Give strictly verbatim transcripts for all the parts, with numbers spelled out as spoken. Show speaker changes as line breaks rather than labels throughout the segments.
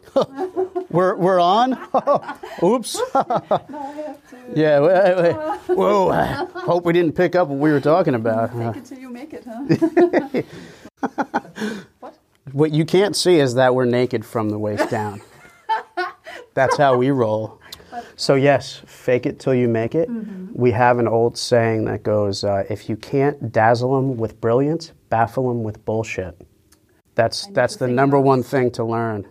we're we're on. Oops.
No, I have to.
Yeah. Wait, wait. Whoa. Hope we didn't pick up what we were talking about.
Fake it till you make it, huh? What?
What you can't see is that we're naked from the waist down. That's how we roll. So yes, fake it till you make it. Mm-hmm. We have an old saying that goes, uh, if you can't dazzle them with brilliance, baffle them with bullshit. That's that's the number one thing to learn.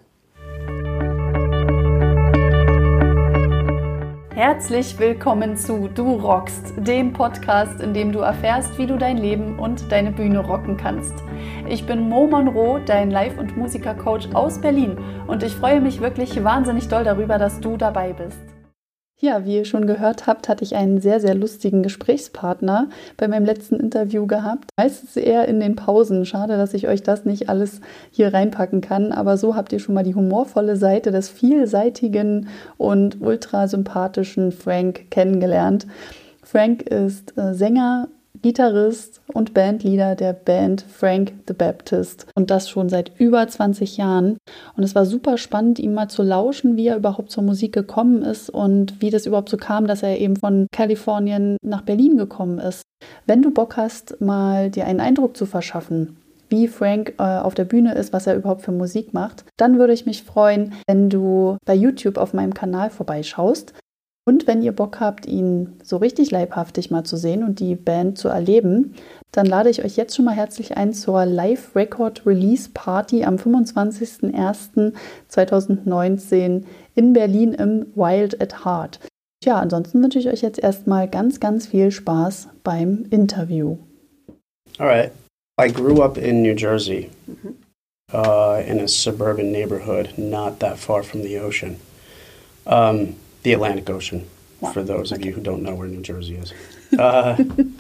Herzlich willkommen zu Du rockst, dem Podcast, in dem du erfährst, wie du dein Leben und deine Bühne rocken kannst. Ich bin Mo Monroe, dein Live- und Musiker-Coach aus Berlin und ich freue mich wirklich wahnsinnig doll darüber, dass du dabei bist. Ja, wie ihr schon gehört habt, hatte ich einen sehr, sehr lustigen Gesprächspartner bei meinem letzten Interview gehabt. Meistens eher in den Pausen. Schade, dass ich euch das nicht alles hier reinpacken kann. Aber so habt ihr schon mal die humorvolle Seite des vielseitigen und ultra sympathischen Frank kennengelernt. Frank ist äh, Sänger, Gitarrist und Bandleader der Band Frank the Baptist und das schon seit über zwanzig Jahren. Und es war super spannend, ihm mal zu lauschen, wie er überhaupt zur Musik gekommen ist und wie das überhaupt so kam, dass er eben von Kalifornien nach Berlin gekommen ist. Wenn du Bock hast, mal dir einen Eindruck zu verschaffen, wie Frank äh, auf der Bühne ist, was er überhaupt für Musik macht, dann würde ich mich freuen, wenn du bei YouTube auf meinem Kanal vorbeischaust. Und wenn ihr Bock habt, ihn so richtig leibhaftig mal zu sehen und die Band zu erleben, dann lade ich euch jetzt schon mal herzlich ein zur Live-Record-Release-Party am fünfundzwanzigsten ersten zweitausendneunzehn in Berlin im Wild at Heart. Tja, ansonsten wünsche ich euch jetzt erstmal ganz, ganz viel Spaß beim Interview.
All right. I grew up in New Jersey, mm-hmm. uh, in a suburban neighborhood not that far from the ocean. Um, The Atlantic Ocean, wow. For those of okay. you who don't know where New Jersey is. Uh,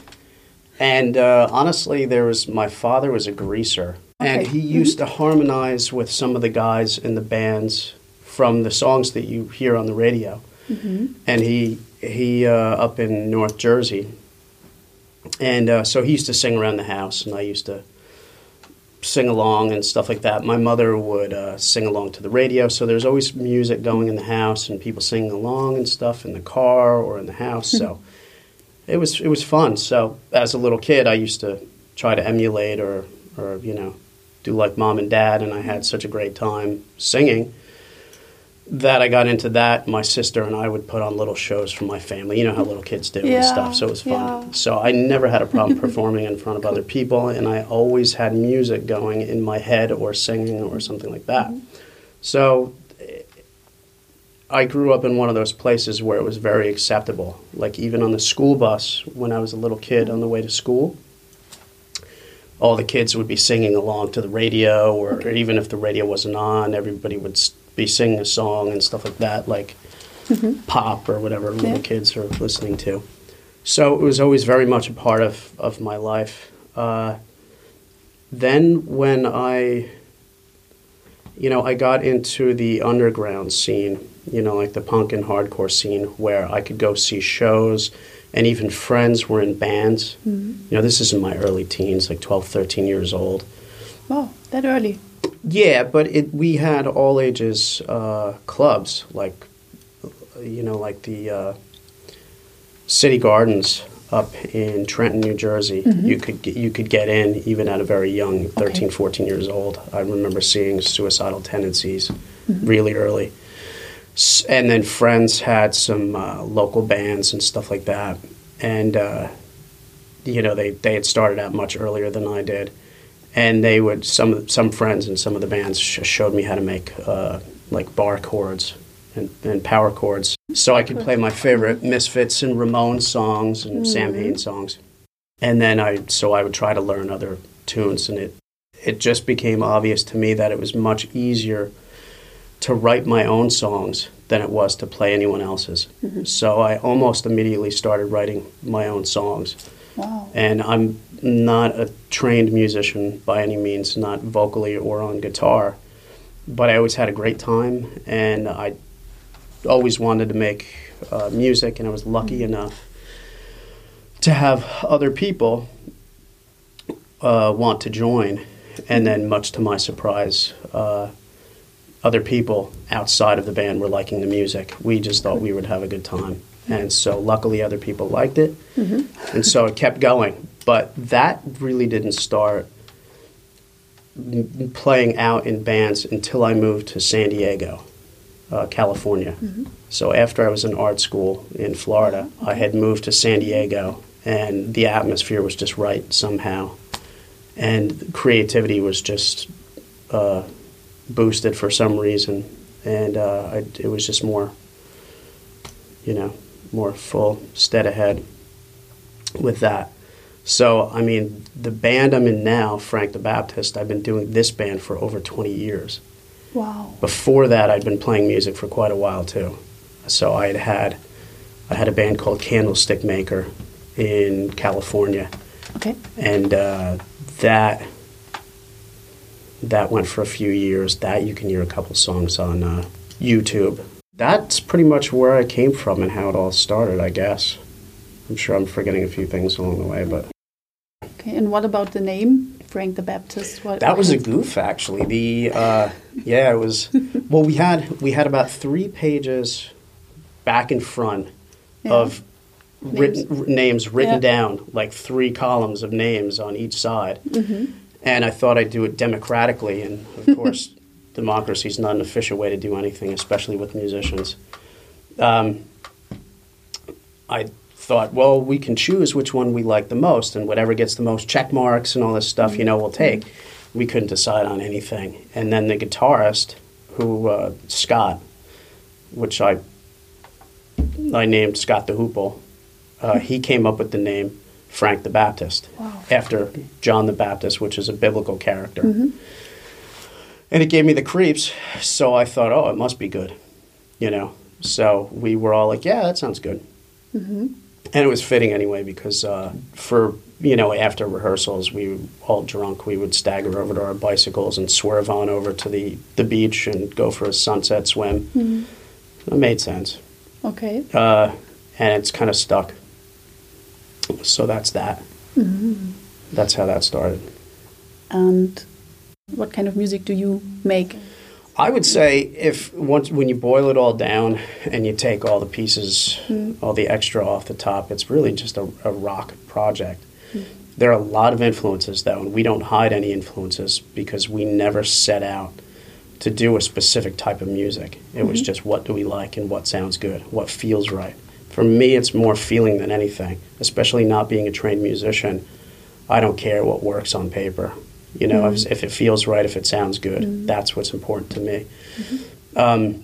and uh, honestly, there was my father was a greaser, okay. and he mm-hmm. used to harmonize with some of the guys in the bands from the songs that you hear on the radio. Mm-hmm. And he he uh, up in North Jersey, and uh, so he used to sing around the house, and I used to sing along and stuff like that. My mother would uh, sing along to the radio, so there's always music going in the house and people singing along and stuff in the car or in the house. So it was it was fun. So as a little kid, I used to try to emulate or or you know do like mom and dad, and I had such a great time singing that I got into that. My sister and I would put on little shows for my family. You know how little kids do
yeah,
and stuff, so it was fun.
Yeah.
So I never had a problem performing in front of other people, and I always had music going in my head or singing or something like that. Mm-hmm. So I grew up in one of those places where it was very acceptable. Like even on the school bus when I was a little kid on the way to school, all the kids would be singing along to the radio, or, okay. or even if the radio wasn't on, everybody would st- be singing a song and stuff like that, like mm-hmm. pop or whatever yeah. little kids are listening to. So it was always very much a part of, of my life. Uh, then when I, you know, I got into the underground scene, you know, like the punk and hardcore scene, where I could go see shows, and even friends were in bands. Mm-hmm. You know, this is in my early teens, like twelve, thirteen years old.
Wow, that early.
Yeah, but it, we had all ages uh, clubs, like, you know, like the uh, City Gardens up in Trenton, New Jersey. Mm-hmm. You could get, you could get in even at a very young, thirteen, okay. fourteen years old. I remember seeing Suicidal Tendencies mm-hmm. really early. And then friends had some uh, local bands and stuff like that. And, uh, you know, they, they had started out much earlier than I did. And they would, some some friends and some of the bands sh- showed me how to make uh, like bar chords and, and power chords. So I could play my favorite Misfits and Ramones songs and mm-hmm. Sam Hain songs. And then I, so I would try to learn other tunes. And it, it just became obvious to me that it was much easier to write my own songs than it was to play anyone else's. Mm-hmm. So I almost immediately started writing my own songs.
Wow.
And I'm not a trained musician by any means, not vocally or on guitar, but I always had a great time, and I always wanted to make uh, music, and I was lucky mm-hmm. enough to have other people uh, want to join, and then much to my surprise, uh, other people outside of the band were liking the music. We just thought we would have a good time. And so luckily other people liked it. Mm-hmm. And so it kept going. But that really didn't start m- playing out in bands until I moved to San Diego, uh, California. Mm-hmm. So after I was in art school in Florida, okay. I had moved to San Diego, and the atmosphere was just right somehow. And creativity was just uh, boosted for some reason. And uh, I, it was just more, you know, more full stead ahead with that. So, I mean, the band I'm in now, Frank the Baptist, I've been doing this band for over twenty years.
Wow.
Before that, I'd been playing music for quite a while, too. So I had had, I had a band called Candlestick Maker in California.
Okay.
And uh, that that went for a few years. That you can hear a couple songs on uh, YouTube. That's pretty much where I came from and how it all started, I guess. I'm sure I'm forgetting a few things along the way, but...
Okay, and what about the name, Frank the Baptist? What,
that was a goof, actually. The uh, yeah, it was... Well, we had we had about three pages back and front yeah. of written, names. R- names written yeah. down, like three columns of names on each side. Mm-hmm. And I thought I'd do it democratically, and of course... Democracy is not an official way to do anything, especially with musicians. Um, I thought, well, we can choose which one we like the most, and whatever gets the most check marks and all this stuff, you know, we'll take. We couldn't decide on anything. And then the guitarist, who, uh, Scott, which I I named Scott the Hoople, uh, he came up with the name Frank the Baptist, wow. after John the Baptist, which is a biblical character. Mm-hmm. And it gave me the creeps, so I thought, oh, it must be good, you know. So we were all like, yeah, that sounds good. Mm-hmm. And it was fitting anyway because uh, for, you know, after rehearsals, we were all drunk. We would stagger over to our bicycles and swerve on over to the, the beach and go for a sunset swim. Mm-hmm. It made sense.
Okay.
Uh, and it's kind of stuck. So that's that. Mm-hmm. That's how that started.
And... what kind of music do you make?
I would say if once when you boil it all down and you take all the pieces, mm. all the extra off the top, it's really just a, a rock project. Mm. There are a lot of influences, though, and we don't hide any influences because we never set out to do a specific type of music. It mm-hmm. was just what do we like and what sounds good, what feels right. For me, it's more feeling than anything, especially not being a trained musician. I don't care what works on paper. You know, mm-hmm. if, if it feels right, if it sounds good, mm-hmm. that's what's important to me. Mm-hmm. Um,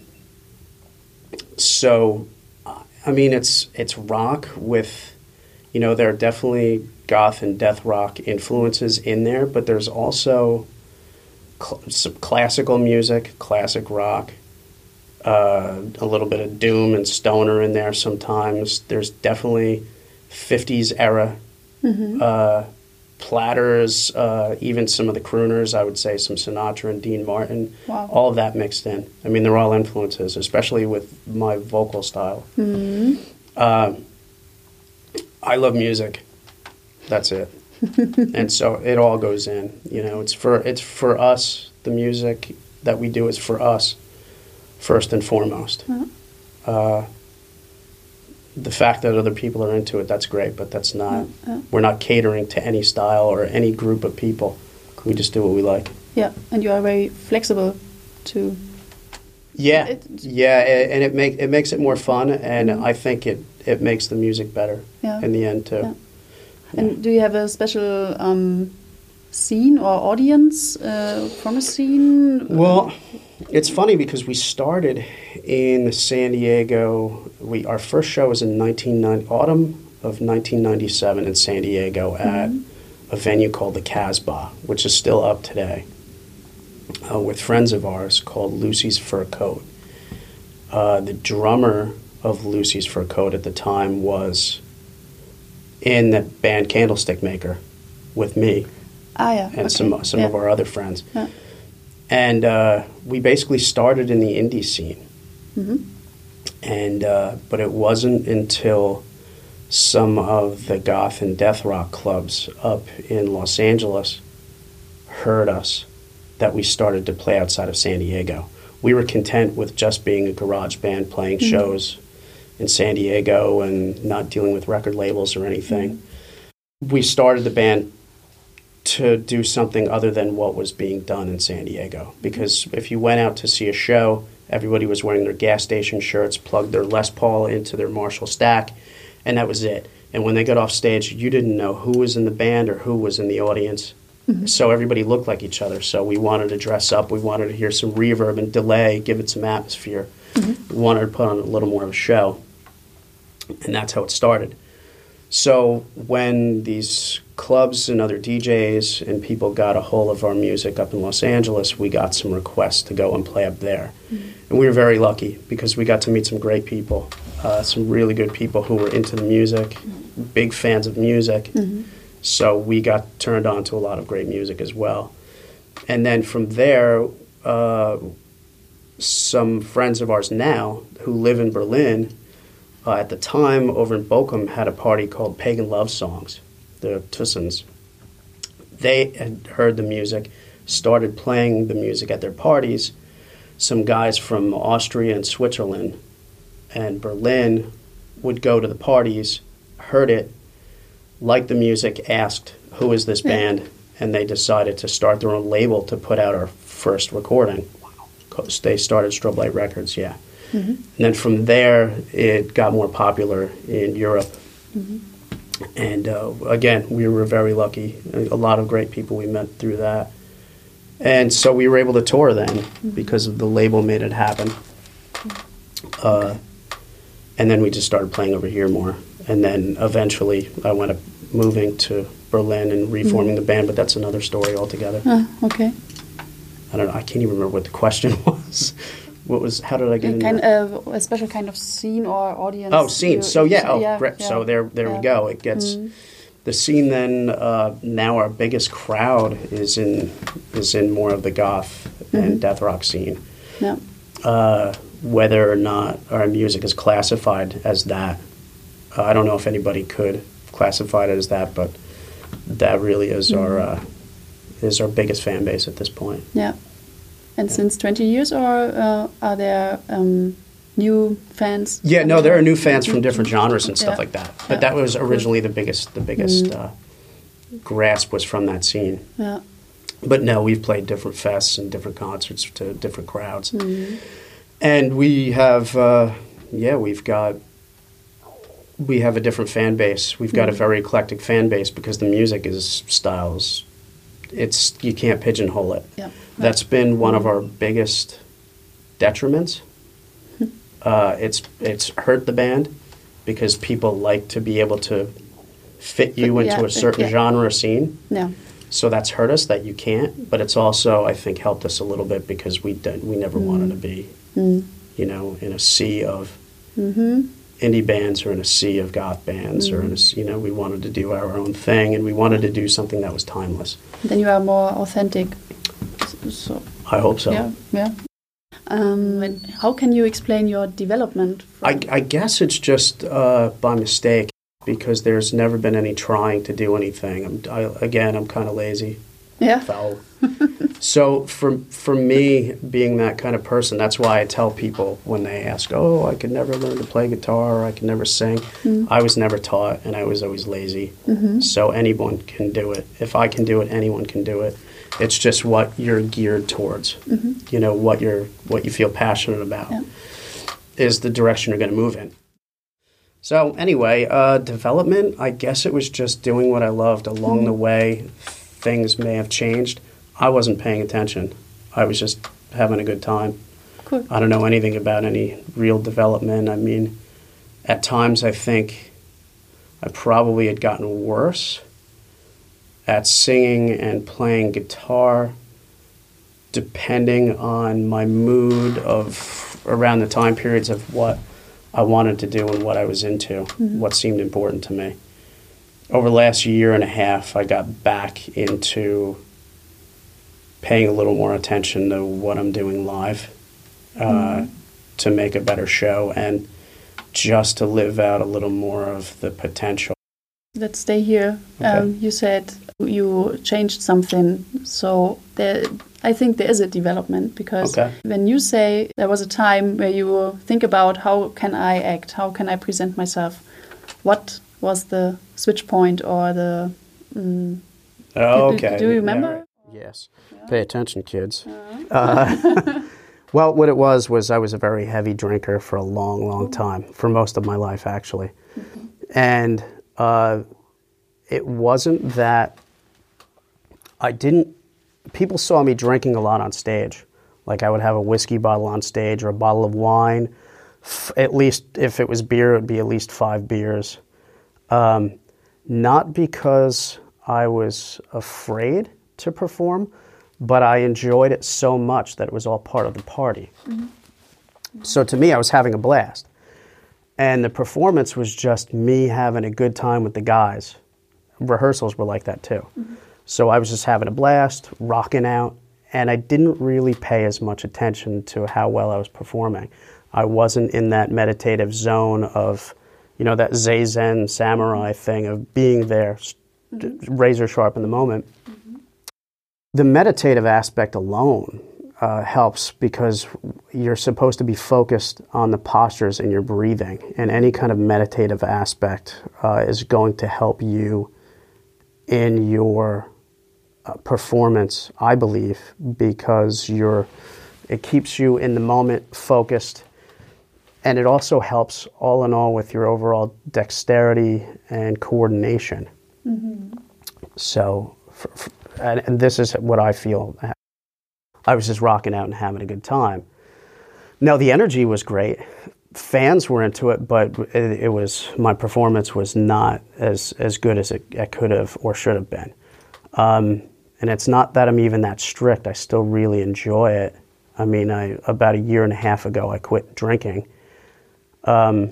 so, I mean, it's it's rock with, you know, there are definitely goth and death rock influences in there, but there's also cl- some classical music, classic rock, uh, a little bit of doom and stoner in there sometimes. There's definitely fifties era mm-hmm. uh platters, uh, even some of the crooners, I would say some Sinatra and Dean Martin, wow. all of that mixed in. I mean, they're all influences, especially with my vocal style. Mm-hmm. Uh, I love music. That's it. And so it all goes in. You know, it's for it's for us. The music that we do is for us, first and foremost. Uh-huh. Uh, The fact that other people are into it, that's great, but that's not, yeah, yeah. we're not catering to any style or any group of people. We just do what we like.
Yeah, and you are very flexible to...
Yeah, it, yeah, and it, make, it makes it more fun, and mm-hmm. I think it, it makes the music better yeah. in the end, too. Yeah. Yeah.
And do you have a special um, scene or audience uh, from a scene?
Well... It's funny because we started in San Diego. We our first show was in nineteen ninety, autumn of nineteen ninety-seven in San Diego at mm-hmm. a venue called the Casbah, which is still up today, uh, with friends of ours called Lucy's Fur Coat. Uh, the drummer of Lucy's Fur Coat at the time was in the band Candlestick Maker with me
ah, yeah.
and
okay.
some some
yeah.
of our other friends.
Yeah.
And uh, we basically started in the indie scene. Mm-hmm. And uh, but it wasn't until some of the goth and death rock clubs up in Los Angeles heard us that we started to play outside of San Diego. we were content with just being a garage band playing mm-hmm. shows in San Diego and not dealing with record labels or anything. Mm-hmm. We started the band to do something other than what was being done in San Diego. Because if you went out to see a show, everybody was wearing their gas station shirts, plugged their Les Paul into their Marshall stack, and that was it. And when they got off stage, you didn't know who was in the band or who was in the audience. Mm-hmm. So everybody looked like each other. So we wanted to dress up. We wanted to hear some reverb and delay, give it some atmosphere. Mm-hmm. We wanted to put on a little more of a show. And that's how it started. So when these clubs and other D Js and people got a hold of our music up in Los Angeles, we got some requests to go and play up there. Mm-hmm. And we were very lucky because we got to meet some great people, uh, some really good people who were into the music, mm-hmm. big fans of music. Mm-hmm. So we got turned on to a lot of great music as well. And then from there, uh, some friends of ours now who live in Berlin, Uh, at the time, over in Bochum, had a party called Pagan Love Songs, the Tussens. They had heard the music, started playing the music at their parties. Some guys from Austria and Switzerland and Berlin would go to the parties, heard it, liked the music, asked, who is this band? And they decided to start their own label to put out our first recording. Because they started Strobe Light Records, yeah. Mm-hmm. And then from there, it got more popular in Europe. Mm-hmm. And uh, again, we were very lucky. A lot of great people we met through that. And so we were able to tour then mm-hmm. because of the label made it happen. Uh, okay. And then we just started playing over here more. And then eventually I wound up moving to Berlin and reforming mm-hmm. the band, but that's another story altogether.
Uh, okay.
I don't know. I can't even remember what the question was. What was? How did I get
a
into
kind
that?
of a special kind of scene or audience?
Oh, scene.
You,
so yeah. Oh,
yeah,
great.
Yeah,
so there, there
yeah.
we go. It gets mm. the scene. Then uh, now our biggest crowd is in is in more of the goth mm-hmm. and death rock scene.
Yeah.
Uh, whether or not our music is classified as that, uh, I don't know if anybody could classify it as that, but that really is mm. our uh, is our biggest fan base at this point.
Yeah. And yeah. since twenty years, or uh, are there um, new fans?
Yeah, no, there are new fans from different genres and stuff
yeah.
like that. But yeah. that was originally the biggest, the biggest mm. uh, grasp was from that scene.
Yeah.
But no, we've played different fests and different concerts to different crowds.
Mm.
And we have, uh, yeah, we've got, we have a different fan base. We've got mm. a very eclectic fan base because the music is styles. It's, you can't pigeonhole it.
Yeah.
That's been one of our biggest detriments. Uh, it's it's hurt the band because people like to be able to fit you into yeah, a certain yeah. genre or scene.
Yeah.
So that's hurt us that you can't. But it's also, I think, helped us a little bit because we did, we never mm. wanted to be, mm. you know, in a sea of mm-hmm. indie bands or in a sea of goth bands mm. or in a, you know, we wanted to do our own thing and we wanted to do something that was timeless.
Then you are more authentic. So,
I hope so.
Yeah, yeah. Um, and how can you explain your development?
I, I guess it's just uh, by mistake because there's never been any trying to do anything. I'm, I, again, I'm kind of lazy.
Yeah.
Foul. So for for me, being that kind of person, that's why I tell people when they ask, "Oh, I could never learn to play guitar, or I could never sing." Mm. I was never taught, and I was always lazy. Mm-hmm. So anyone can do it. If I can do it, anyone can do it. It's just what you're geared towards. Mm-hmm. You know, what you're what you feel passionate about yeah. is the direction you're going to move in. So anyway, uh, development, I guess it was just doing what I loved. Along mm-hmm. the way, things may have changed. I wasn't paying attention. I was just having a good time.
Cool.
I don't know anything about any real development. I mean, at times I think I probably had gotten worse at singing and playing guitar depending on my mood of around the time periods of what I wanted to do and what I was into, mm-hmm. what seemed important to me. Over the last year and a half, I got back into paying a little more attention to what I'm doing live uh, mm-hmm. to make a better show and just to live out a little more of the potential.
Let's stay here. Okay. Um, you said you changed something. So there, I think there is a development because
Okay.
when you say there was a time where you think about how can I act, how can I present myself, what was the switch point or the... Mm,
Oh,
do,
okay.
do you remember?
Yeah, right. Yes. Yeah. Pay attention, kids. Uh-huh. Uh, well, what it was was I was a very heavy drinker for a long, long time, for most of my life, actually. Mm-hmm. And uh, it wasn't that I didn't... People saw me drinking a lot on stage. Like I would have a whiskey bottle on stage or a bottle of wine. F- at least if it was beer, it would be at least five beers. Um, not because I was afraid to perform, but I enjoyed it so much that it was all part of the party. Mm-hmm. Mm-hmm. So to me, I was having a blast. And the performance was just me having a good time with the guys. Rehearsals were like that too. Mm-hmm. So I was just having a blast, rocking out, and I didn't really pay as much attention to how well I was performing. I wasn't in that meditative zone of, you know, that Zazen samurai thing of being there, mm-hmm. razor sharp in the moment. Mm-hmm. The meditative aspect alone uh, helps because you're supposed to be focused on the postures and your breathing, and any kind of meditative aspect uh, is going to help you in your uh, performance, I believe, because you're, it keeps you in the moment focused, and it also helps all in all with your overall dexterity and coordination. Mm-hmm. So, for, for, and, and this is what I feel. I was just rocking out and having a good time. Now, the energy was great. Fans were into it, but it, it was, my performance was not as, as good as it, it could have or should have been. Um, and it's not that I'm even that strict. I still really enjoy it. I mean, I about a year and a half ago, I quit drinking. Um,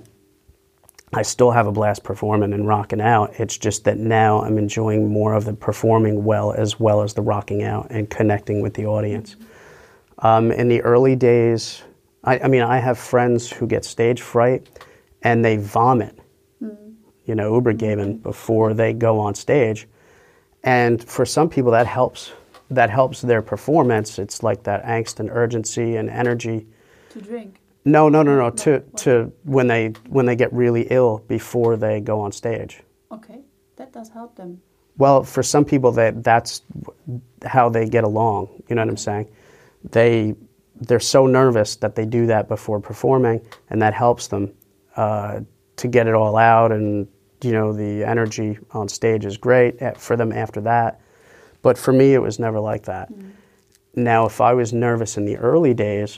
I still have a blast performing and rocking out. It's just that now I'm enjoying more of the performing well as well as the rocking out and connecting with the audience. Um, in the early days, I, I mean, I have friends who get stage fright and they vomit, mm-hmm. you know, Ubergeben before they go on stage. And for some people that helps, that helps their performance. It's like that angst and urgency and energy.
To drink?
No, no, no, no, to, to when they, when they get really ill before they go on stage.
Okay, that does help them.
Well, for some people that that's how they get along, you know what I'm saying? They, they're so nervous that they do that before performing, and that helps them uh, to get it all out. And you know, the energy on stage is great for them after that. But for me, it was never like that. Mm. Now, if I was nervous in the early days,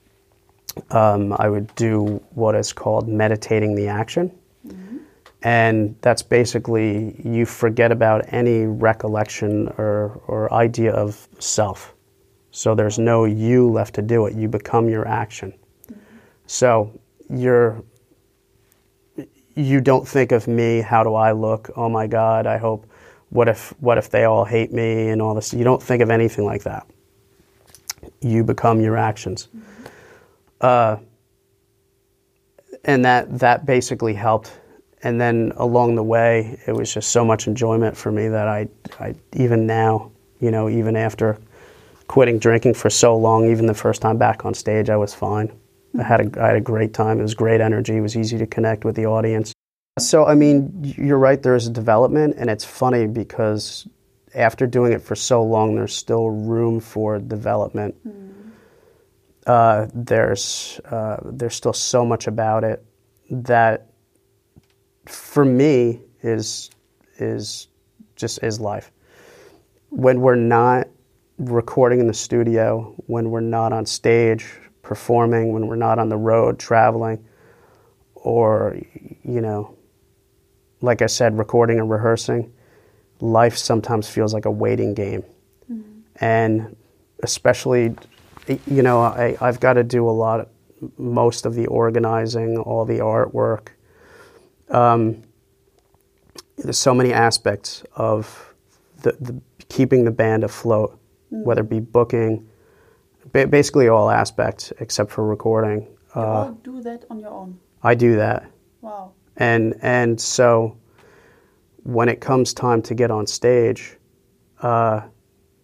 um, I would do what is called meditating the action. Mm-hmm. And that's basically you forget about any recollection or, or idea of self. So there's no you left to do it. You become your action. Mm-hmm. So you're, you don't think of me, how do I look? Oh my God, I hope, what if, what if they all hate me and all this? You don't think of anything like that. You become your actions. Mm-hmm. Uh, and that, that basically helped. And then along the way, it was just so much enjoyment for me that I, I even now, you know, even after quitting drinking for so long, even the first time back on stage, I was fine. I had a, I had a great time. It was great energy. It was easy to connect with the audience. So, I mean, you're right, there is a development, and it's funny because after doing it for so long, there's still room for development. Mm. Uh, there's, uh, there's still so much about it that, for me, is, is just is life. When we're not recording in the studio, when we're not on stage performing, when we're not on the road traveling, or, you know, like I said, recording and rehearsing, life sometimes feels like a waiting game. Mm-hmm. And especially, you know, I, I've got to do a lot, of, most of the organizing, all the artwork. Um, there's so many aspects of the, the keeping the band afloat, mm-hmm. whether it be booking, ba- basically all aspects except for recording.
You
uh,
all do that on your own?
I do that.
Wow.
And and so when it comes time to get on stage, uh,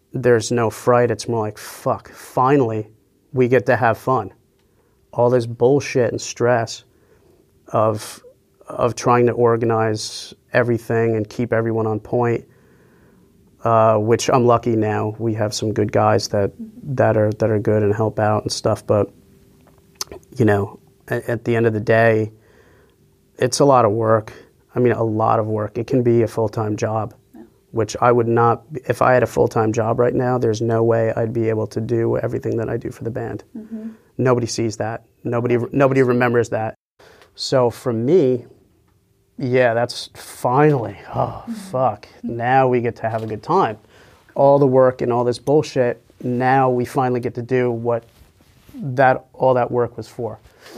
there's no fright. It's more like, fuck, finally we get to have fun. All this bullshit and stress of of trying to organize everything and keep everyone on point, uh, which I'm lucky now. We have some good guys that that are that are good and help out and stuff. But you know, at, at the end of the day, it's a lot of work. I mean, a lot of work. It can be a full-time job, yeah. which I would not. If I had a full-time job right now, there's no way I'd be able to do everything that I do for the band. Mm-hmm. Nobody sees that. Nobody nobody remembers that. So for me, yeah, that's finally, oh, fuck. Now we get to have a good time. All the work and all this bullshit, now we finally get to do what that all that work was for.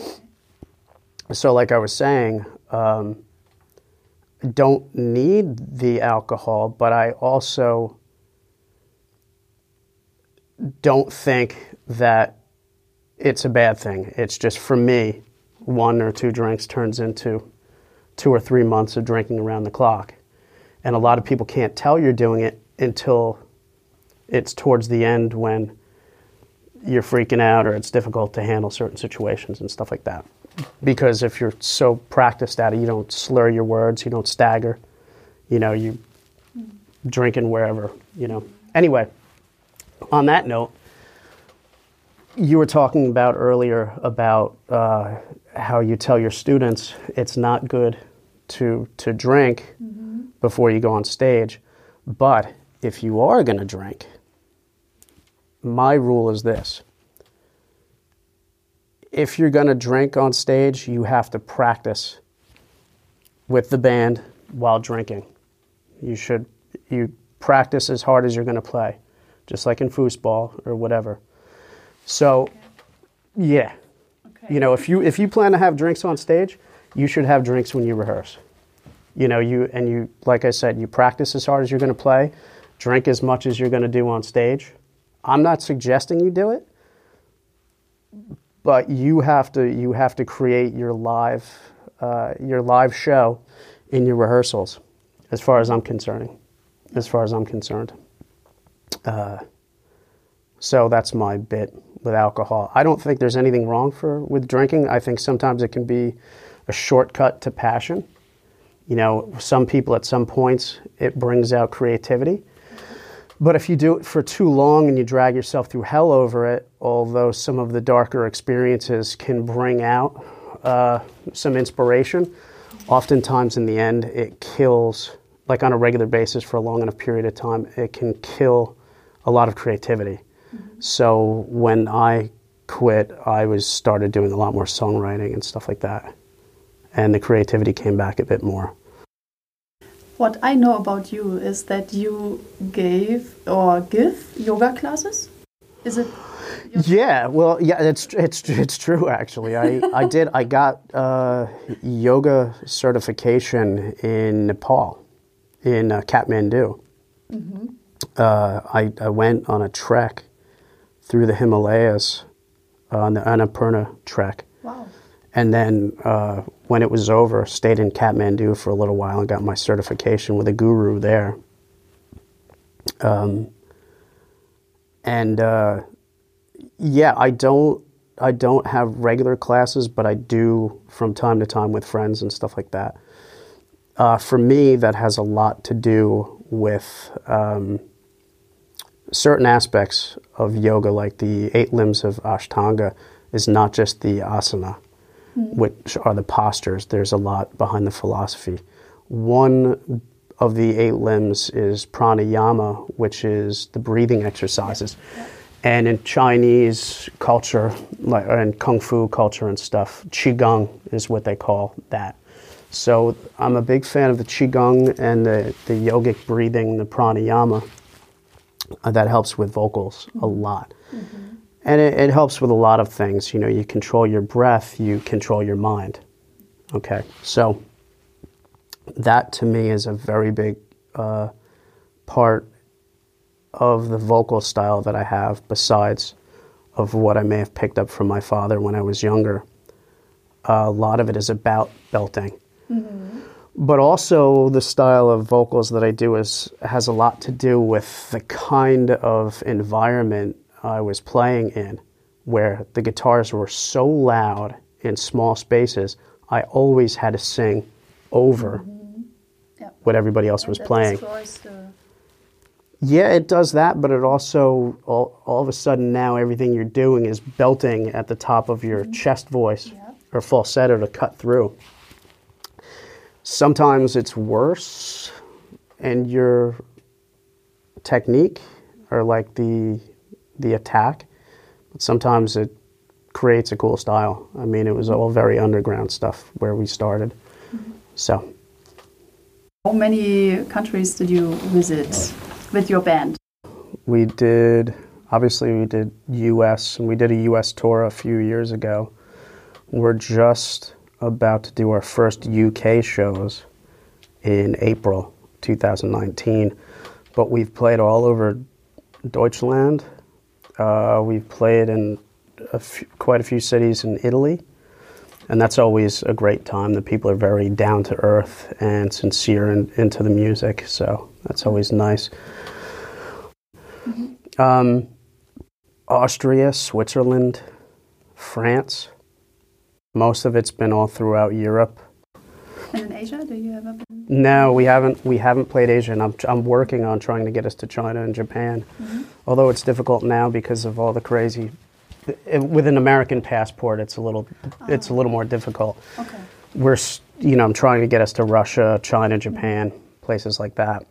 So like I was saying, um, I don't need the alcohol, but I also don't think that it's a bad thing. It's just, for me, one or two drinks turns into two or three months of drinking around the clock. And a lot of people can't tell you're doing it until it's towards the end when you're freaking out or it's difficult to handle certain situations and stuff like that. Because if you're so practiced at it, you don't slur your words, you don't stagger, you know, you drinking wherever, you know. Anyway, on that note, you were talking about earlier about uh, how you tell your students it's not good to to drink mm-hmm. before you go on stage. But if you are going to drink, my rule is this. If you're going to drink on stage, you have to practice with the band while drinking. You should you practice as hard as you're going to play, just like in foosball or whatever. So, yeah, okay. you know, if you if you plan to have drinks on stage, you should have drinks when you rehearse. You know, you and you, like I said, you practice as hard as you're going to play, drink as much as you're going to do on stage. I'm not suggesting you do it, but you have to you have to create your live uh, your live show in your rehearsals, as far as I'm concerned. As far as I'm concerned. Uh, so that's my bit with alcohol. I don't think there's anything wrong for with drinking. I think sometimes it can be a shortcut to passion. You know, some people at some points it brings out creativity. But if you do it for too long and you drag yourself through hell over it, although some of the darker experiences can bring out uh, some inspiration, oftentimes in the end it kills, like on a regular basis for a long enough period of time, it can kill a lot of creativity. Mm-hmm. So when I quit, I was started doing a lot more songwriting and stuff like that. And the creativity came back a bit more.
What I know about you is that you gave or give yoga classes. Is it?
Yeah, well, yeah, it's it's it's true actually. I, I did. I got uh, yoga certification in Nepal, in uh, Kathmandu. Mm-hmm. Uh, I I went on a trek through the Himalayas uh, on the Annapurna trek. Wow. And then uh, when it was over, stayed in Kathmandu for a little while and got my certification with a guru there. Um, and uh, yeah, I don't I don't have regular classes, but I do from time to time with friends and stuff like that. Uh, for me, that has a lot to do with um, certain aspects of yoga, like the eight limbs of Ashtanga is not just the asana, mm-hmm. which are the postures. There's a lot behind the philosophy. One of the eight limbs is pranayama, which is the breathing exercises. Yeah. Yeah. And in Chinese culture, like and Kung Fu culture and stuff, Qigong is what they call that. So I'm a big fan of the Qigong and the, the yogic breathing, the pranayama. Uh, that helps with vocals mm-hmm. a lot. Mm-hmm. And it, it helps with a lot of things. You know, you control your breath, you control your mind. Okay, so that to me is a very big uh, part of the vocal style that I have, besides of what I may have picked up from my father when I was younger. Uh, a lot of it is about belting. Mm-hmm. But also the style of vocals that I do is has a lot to do with the kind of environment I was playing in, where the guitars were so loud in small spaces. I always had to sing over mm-hmm. yep. what everybody else and was
that
playing.
Destroys the...
Yeah, it does that, but it also, all, all of a sudden now everything you're doing is belting at the top of your mm-hmm. chest voice yep. or falsetto to cut through. Sometimes it's worse, and your technique or like the the attack, but sometimes it creates a cool style. I mean, it was all very underground stuff where we started. Mm-hmm. So,
how many countries did you visit with your band?
We did, obviously we did U S, and we did a U S tour a few years ago. We're just about to do our first U K shows in April two thousand nineteen, but we've played all over Deutschland. Uh, we've played in a few, quite a few cities in Italy, and that's always a great time. The people are very down to earth and sincere and into the music, so that's always nice. Mm-hmm. Um, Austria, Switzerland, France. Most of it's been all throughout Europe.
And in Asia, do you ever been?
No, we haven't. We haven't played Asia, and I'm I'm working on trying to get us to China and Japan. Mm-hmm. Although it's difficult now because of all the crazy. With an American passport, it's a little oh. it's a little more difficult.
Okay.
We're you know I'm trying to get us to Russia, China, Japan, mm-hmm. places like that.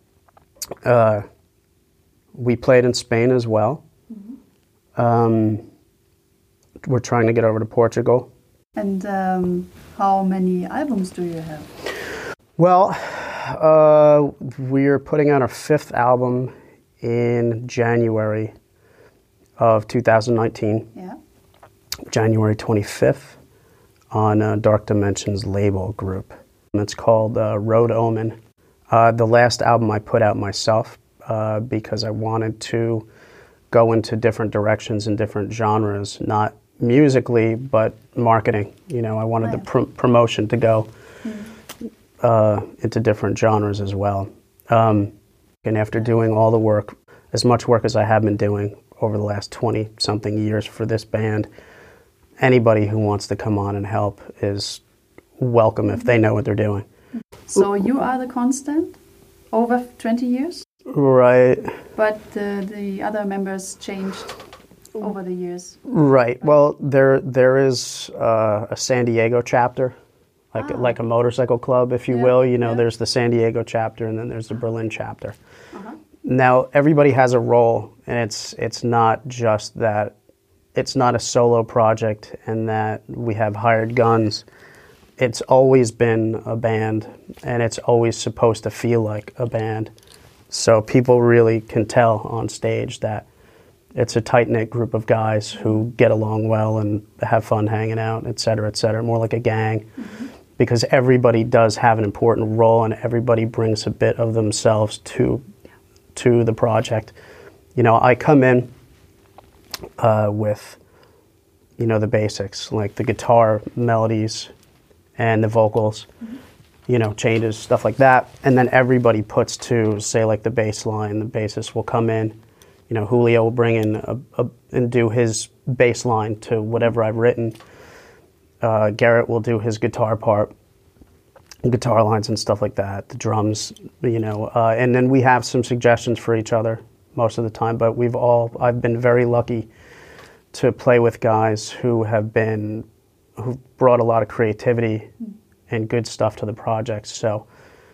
Uh, we played in Spain as well. Mm-hmm. Um, we're trying to get over to Portugal.
And um, how many albums do you have?
Well, uh, we're putting out our fifth album in January of two thousand nineteen.
Yeah.
January twenty-fifth on uh, Dark Dimensions label group. And it's called uh, Road Omen. Uh, the last album I put out myself uh, because I wanted to go into different directions and different genres, not musically, but marketing. You know, I wanted right. the pr- promotion to go mm. uh, into different genres as well. Um, and after doing all the work, as much work as I have been doing over the last twenty-something years for this band, anybody who wants to come on and help is welcome if they know what they're doing.
So you are the constant over twenty years?
Right.
But uh, the other members changed over the years.
Right. Well, there there is uh, a San Diego chapter, like ah. like a motorcycle club, if you yeah. will. You know, yeah. there's the San Diego chapter, and then there's the Berlin chapter. Uh-huh. Now, everybody has a role, and it's it's not just that. It's not a solo project, and that we have hired guns. It's always been a band, and it's always supposed to feel like a band. So people really can tell on stage that it's a tight-knit group of guys who get along well and have fun hanging out, et cetera, et cetera, more like a gang. Mm-hmm. Because everybody does have an important role, and everybody brings a bit of themselves to to the project. You know, I come in uh, with, you know, the basics, like the guitar melodies and the vocals, mm-hmm. you know, changes, stuff like that. And then everybody puts to, say, like the bass line. The bassist will come in. You know, Julio will bring in a, a, and do his bass line to whatever I've written. Uh, Garrett will do his guitar part, guitar lines and stuff like that, the drums, you know. Uh, and then we have some suggestions for each other most of the time, but we've all, I've been very lucky to play with guys who have been, who've brought a lot of creativity mm. and good stuff to the project. So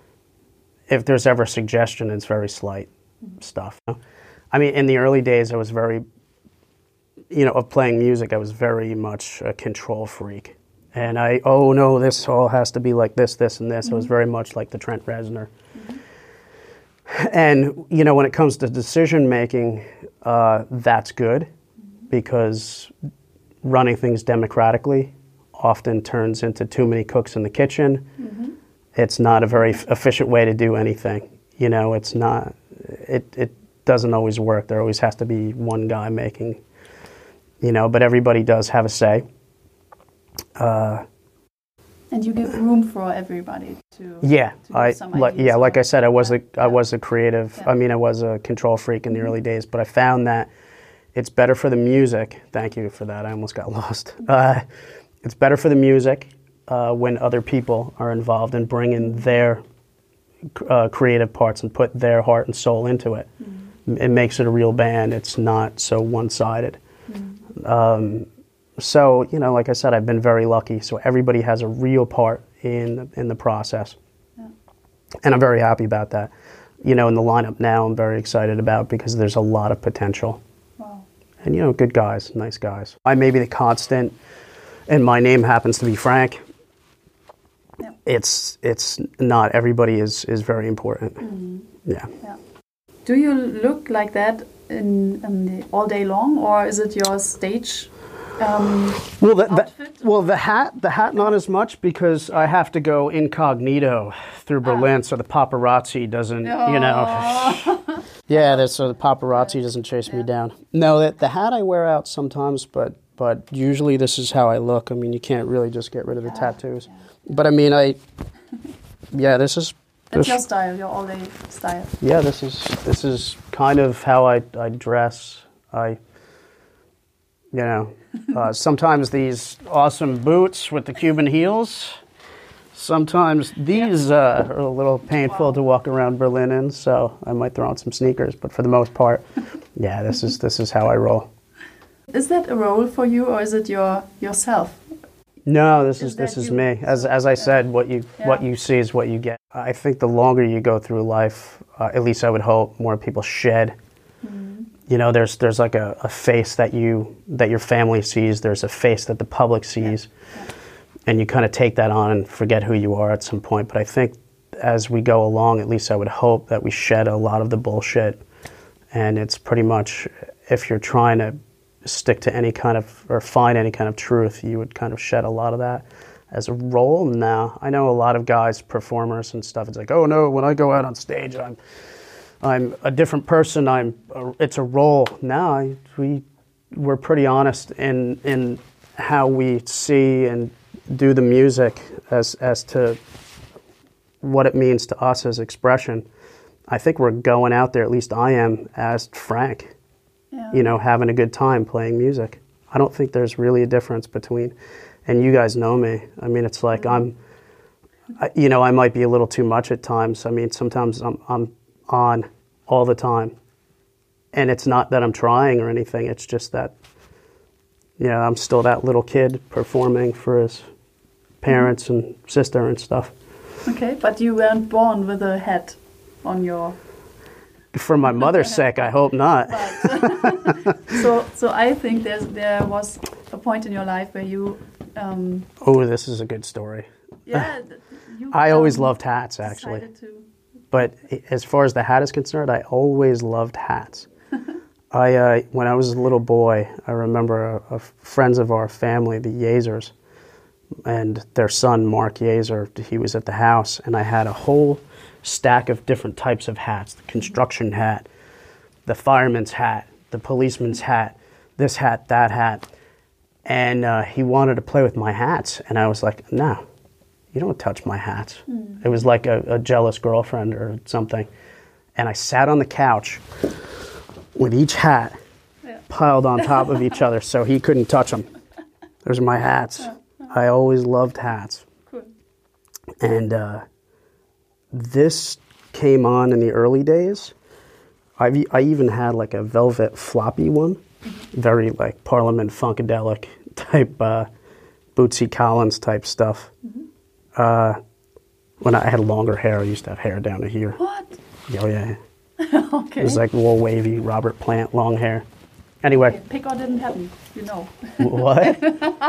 if there's ever a suggestion, it's very slight mm. stuff. I mean, in the early days, I was very, you know, of playing music, I was very much a control freak. And I, oh no, this all has to be like this, this, and this. Mm-hmm. I was very much like the Trent Reznor. Mm-hmm. And, you know, when it comes to decision making, uh, that's good mm-hmm. because running things democratically often turns into too many cooks in the kitchen. Mm-hmm. It's not a very f- efficient way to do anything. You know, it's not, it, it doesn't always work. There always has to be one guy making, you know, but everybody does have a say. Uh,
And you give room for everybody to.
Yeah,
to
I
some
like
ideas
yeah,
or-
like I said, I was a
Yeah.
I was a creative.
Yeah.
I mean, I was a control freak in the early days, but I found that it's better for the music. Thank you for that. I almost got lost. Uh, it's better for the music uh, when other people are involved and bring in their uh, creative parts and put their heart and soul into it.
Mm.
It makes it a real band. It's not so one-sided.
Mm.
Um, so, you know, like I said, I've been very lucky. So everybody has a real part in the, in the process.
Yeah.
And I'm very happy about that. You know, in the lineup now, I'm very excited about because there's a lot of potential.
Wow.
And, you know, good guys, nice guys. I may be the constant, and my name happens to be Frank.
Yeah.
It's it's not. Everybody is, is very important.
Mm.
Yeah.
Yeah. Do you look like that in, in the, all day long, or is it your stage um,
Well, the, the,
outfit?
well, the hat, the hat, not as much because I have to go incognito through Berlin, so the paparazzi doesn't, you know.
Oh.
Yeah, that's, so the paparazzi doesn't chase me
Yeah.
down. No, the, the hat I wear out sometimes, but but usually this is how I look. I mean, you can't really just get rid of the
Yeah,
tattoos.
yeah.
But I mean, I, yeah, this is,
That's
this,
your style, your all-day style.
yeah, this is this is kind of how I, I dress. I, you know, uh, sometimes these awesome boots with the Cuban heels. Sometimes these uh, are a little painful
Wow.
to walk around Berlin in, so I might throw on some sneakers. But for the most part, yeah, this is this is how I roll.
Is that a role for you, or is it your yourself?
No, this
Is
is this
that
is
you?
me. As as I said, what you what
Yeah.
you see is what you get. I think the longer you go through life, uh, at least I would hope, more people shed.
Mm.
You know, there's there's like a, a face that you that your family sees. There's a face that the public sees,
Yeah.
and you kind of take that on and forget who you are at some point. But I think as we go along, at least I would hope that we shed a lot of the bullshit. And it's pretty much, if you're trying to stick to any kind of, or find any kind of truth, you would kind of shed a lot of that. As a role, no. I know a lot of guys, performers and stuff, it's like, oh no, when I go out on stage, I'm I'm a different person, I'm a, it's a role. No, I- we, we're pretty honest in in how we see and do the music as as to what it means to us as expression. I think we're going out there, at least I am, as Frank,
Yeah.
you know, having a good time playing music. I don't think there's really a difference between, and you guys know me. I mean, it's like I'm, I, you know, I might be a little too much at times. I mean, sometimes I'm, I'm on all the time. And it's not that I'm trying or anything. It's just that, you know, I'm still that little kid performing for his parents and sister and stuff.
Okay, but you weren't born with a hat on your.
For my mother's sake, I hope not.
But so, so I think there's there was a point in your life where you. Um,
Oh, this is a good story.
yeah, th- you.
I always
um,
loved hats, actually.
decided to-
But as far as the hat is concerned, I always loved hats. I uh, when I was a little boy, I remember a, a friends of our family, the Yazers, and their son Mark Yazer. He was at the house, and I had a whole stack of different types of hats: the construction hat, the fireman's hat, the policeman's hat, this hat, that hat. And uh, he wanted to play with my hats, and I was like, "No, you don't touch my hats."
Mm.
It was like a, a jealous girlfriend or something. And I sat on the couch with each hat
Yeah.
piled on top of each other so he couldn't touch them. Those are my hats. I always loved hats.
Cool.
And uh, this came on in the early days. I've, e- I even had like a velvet floppy one, very like Parliament Funkadelic type, uh, Bootsy Collins type stuff. Uh, when I had longer hair, I used to have hair down to here.
What?
Oh yeah,
Okay.
it was like real wavy Robert Plant long hair. Anyway,
Okay, pick or didn't happen, you know.
what?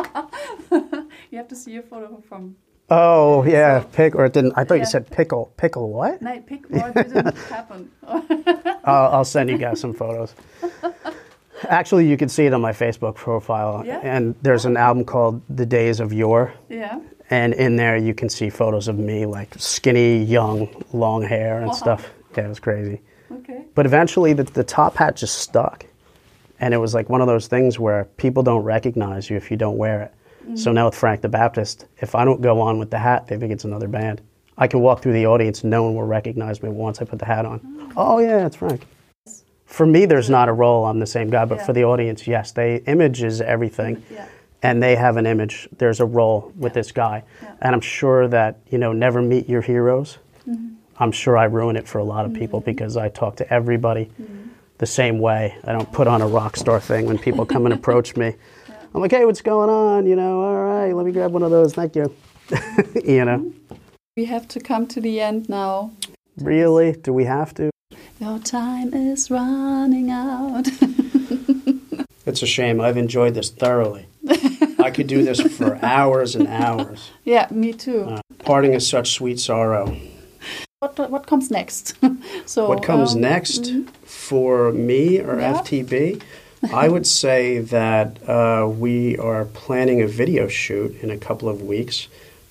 You have to see a photo from.
Oh yeah, pick or it didn't. I thought
Yeah.
you said pickle. Pickle what?
No, pick or didn't happen.
I'll, I'll send you guys some photos. Actually, you can see it on my Facebook profile.
Yeah?
And there's an album called The Days of Yore.
Yeah.
And in there, you can see photos of me, like skinny, young, long hair and
Wow.
stuff. Yeah, it was crazy.
Okay.
But eventually, the, the top hat just stuck. And it was like one of those things where people don't recognize you if you don't wear it. Mm-hmm. So now with Frank the Baptist, if I don't go on with the hat, they think it's another band. I can walk through the audience and no one will recognize me once I put the hat on. Oh, oh yeah, it's Frank. For me, there's not a role, I'm the same guy, but yeah. For the audience, yes, they image is everything. Yeah. And they have an image, there's a role with yeah. this guy. Yeah. And I'm sure that, you know, never meet your heroes. Mm-hmm. I'm sure I ruin it for a lot of people mm-hmm. because I talk to everybody mm-hmm. the same way. I don't put on a rock star thing when people come and approach me. Yeah. I'm like, hey, what's going on? You know, all right, let me grab one of those, thank you. You know.
We have to come to the end now.
Really? Do we have to?
Your time is running out.
It's a shame. I've enjoyed this thoroughly. I could do this for hours and hours.
Yeah, me too. Uh,
parting is such sweet sorrow.
What what comes next? So
what comes
um,
next
mm-hmm.
for me or yeah. F T B? I would say that uh, we are planning a video shoot in a couple of weeks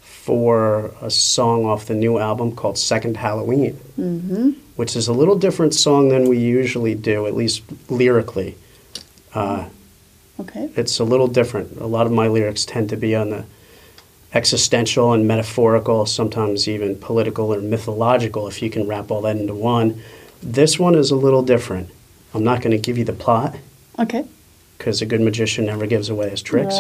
for a song off the new album called Second Halloween, mm-hmm. which is a little different song than we usually do, at least lyrically. Uh,
okay.
It's a little different. A lot of my lyrics tend to be on the existential and metaphorical, sometimes even political or mythological, if you can wrap all that into one. This one is a little different. I'm not going to give you the plot.
Okay.
Because a good magician never gives away his tricks.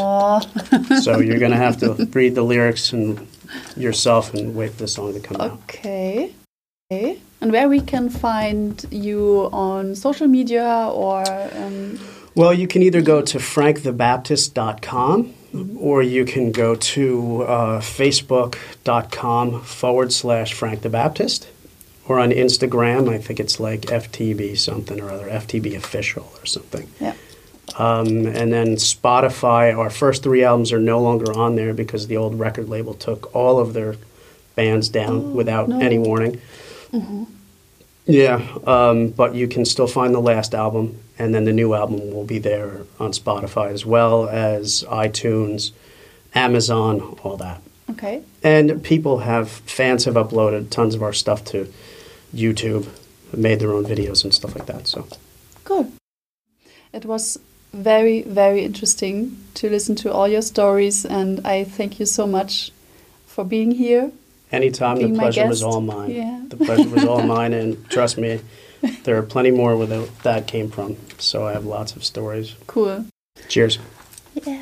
So you're going to have to read the lyrics and yourself and wait for the song to come out.
Okay. Okay. And where we can find you on social media or... Um...
Well, you can either go to frank the baptist dot com mm-hmm. or you can go to uh, facebook.com forward slash Frank the Baptist. Or on Instagram, I think it's like F T B something or other, F T B official or something.
Yeah.
Um, and then Spotify, our first three albums are no longer on there because the old record label took all of their bands down oh, without no. any warning. Mm-hmm. Yeah, um, but you can still find the last album, and then the new album will be there on Spotify as well as iTunes, Amazon, all that.
Okay.
And people have, fans have uploaded tons of our stuff to YouTube, made their own videos and stuff like that. So,
good. It was very, very interesting to listen to all your stories, and I thank you so much for being here.
Anytime, the pleasure was all mine. Yeah. The pleasure was all mine, and trust me, there are plenty more where that came from. So I have lots of stories.
Cool.
Cheers.
Yeah.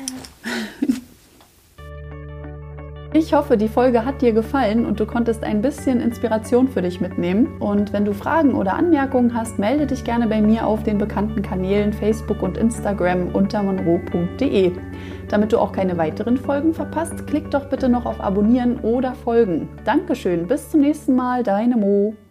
Ich hoffe, die Folge hat dir gefallen und du konntest ein bisschen Inspiration für dich mitnehmen. Und wenn du Fragen oder Anmerkungen hast, melde dich gerne bei mir auf den bekannten Kanälen Facebook und Instagram unter monroe punkt de. Damit du auch keine weiteren Folgen verpasst, klick doch bitte noch auf Abonnieren oder Folgen. Dankeschön, bis zum nächsten Mal, deine Mo.